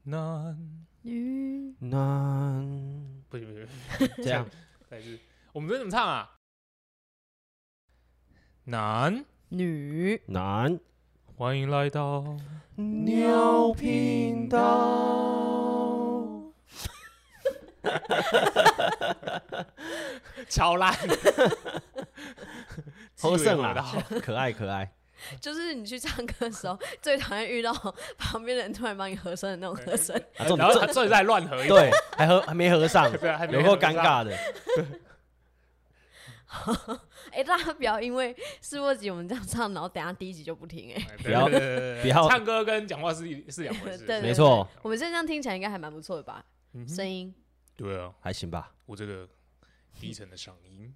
男女男，不，这样，再一次，我们这怎么唱啊？男女男， 歡迎來到鳥頻道。 超爛， 好勝啦，可愛可愛。 就是你去唱歌的時候，最討厭遇到旁邊的人突然幫你和聲的那種和聲， 然後他這在亂合一， 對，還沒合上，有夠尷尬的。 大家不要因為試播集我們這樣唱，然後等下第一集就不聽不要唱歌跟講話是兩回事， 對， 沒錯。 我們現在這樣聽起來應該還蠻不錯的吧？聲音， 對啊， 還行吧。 我這個低沉的嗓音。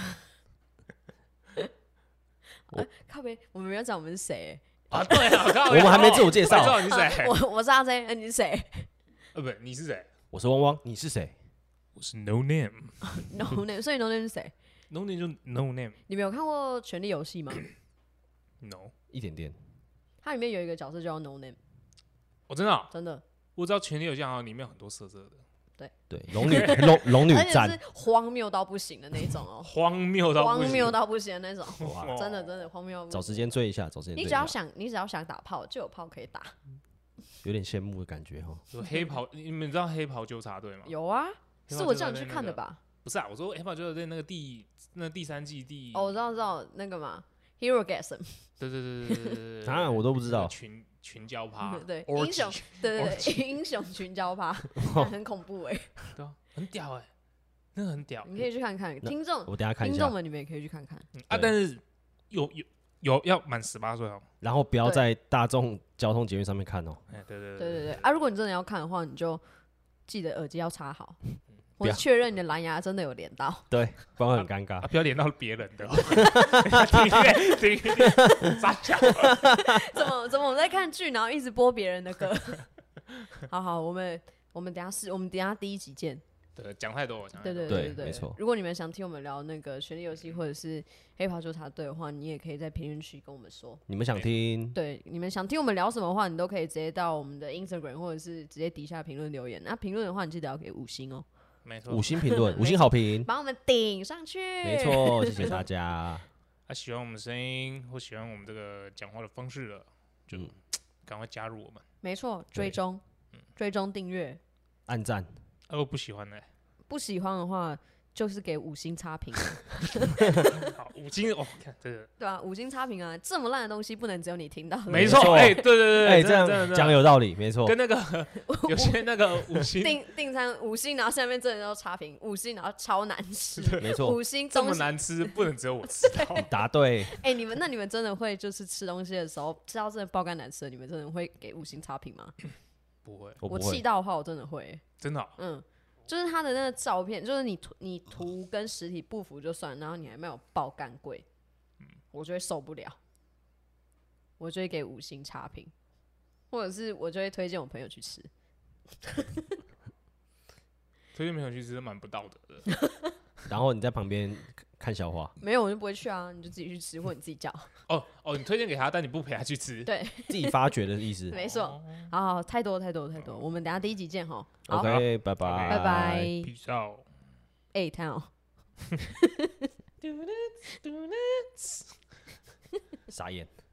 靠北，我們沒有講我們是誰啊？對啊， 我們還沒自我介紹。 你是誰？ 我是阿 J， 你是誰？ 不，你是誰？ 我是汪汪，你是誰？ 我是 No Name。No Name， 所以 No Name 是誰 ？No Name 就 No Name。 你們有看過《權力遊戲》嗎 ？No， 一點點。 它裡面有一個角色叫 No Name。 我真的真的， 我知道《權力遊戲》好像裡面有很多色色的。 對，龍女戰， 而且是荒謬到不行的那種哦， 荒謬到不行的那種，真的荒謬。 找時間追一下， 你只要想打炮，就有炮可以打， 有點羨慕的感覺哈。 有黑袍，你們知道黑袍糾察隊嗎？ 有啊，是我叫你去看的吧？ 不是啊，我說黑袍糾察隊那個第3季我知道那個嘛 ，Herogasm。 對， 當然我都不知道。 群交趴， 對，英雄，對，英雄群交趴，很恐怖哎， 對啊，很屌哎，那個很屌， 你可以去看看，聽眾， 我等下看一下， 聽眾們你們也可以去看看啊，但是有要滿18歲哦， 然後不要在大眾交通捷運上面看哦， 對啊，如果你真的要看的話，你就記得耳機要插好。我確認你的藍牙真的有連到， 對，不然會很尷尬。 不要連到別人的，停，傻笑。 怎麼我們在看劇，然後一直播別人的歌？好，我們等下第一集見。 對，講太多。 對， 沒錯。 如果你們想聽我們聊那個《權力遊戲》或者是《黑袍糾察隊》的話，你也可以在評論區跟我們說。 你們想聽？ 對，你們想聽我們聊什麼的話，你都可以直接到我們的 Instagram 或者是直接底下評論留言。那評論的話，你記得要給5星哦。 沒錯， 5星評論，5星好評， 把我們頂上去。 沒錯，謝謝大家。 喜歡我們的聲音或喜歡我們這個講話的方式的，就趕快加入我們。 沒錯，追蹤、訂閱、 按讚。 如果不喜歡呢？ 不喜歡的話，就是給5星差評。 好，5星哦，看這個。對啊，5星差評啊，這麼爛的東西不能只有你聽到。 沒錯，對， 這樣講有道理，沒錯。 跟那個有些那個5星訂餐5星，然後下面真的都差評5星，然後超難吃。 沒錯 ，5星這麼難吃，不能只有我知道。 答對。 你們真的會就是吃東西的時候吃到真的爆肝難吃的，你們真的會給5星差評嗎？ 不會， 我氣到的話，我真的會。 真的？ 就是他的那個照片，就是你圖跟實體不符就算，然後你還沒有爆幹貴，我就會受不了，我就會給5星差評，或者是我就會推薦我朋友去吃。 推薦朋友去吃蠻不道德的。 然後你在旁邊看笑話？ 沒有，我就不會去啊，你就自己去吃，或者你自己叫。 你推薦給他，但你不陪他去吃。 對， 自己發掘的意思。 沒錯。好，太多，我們等下第一集見哈。 OK， 拜拜。 Peace out。 太好。 傻眼。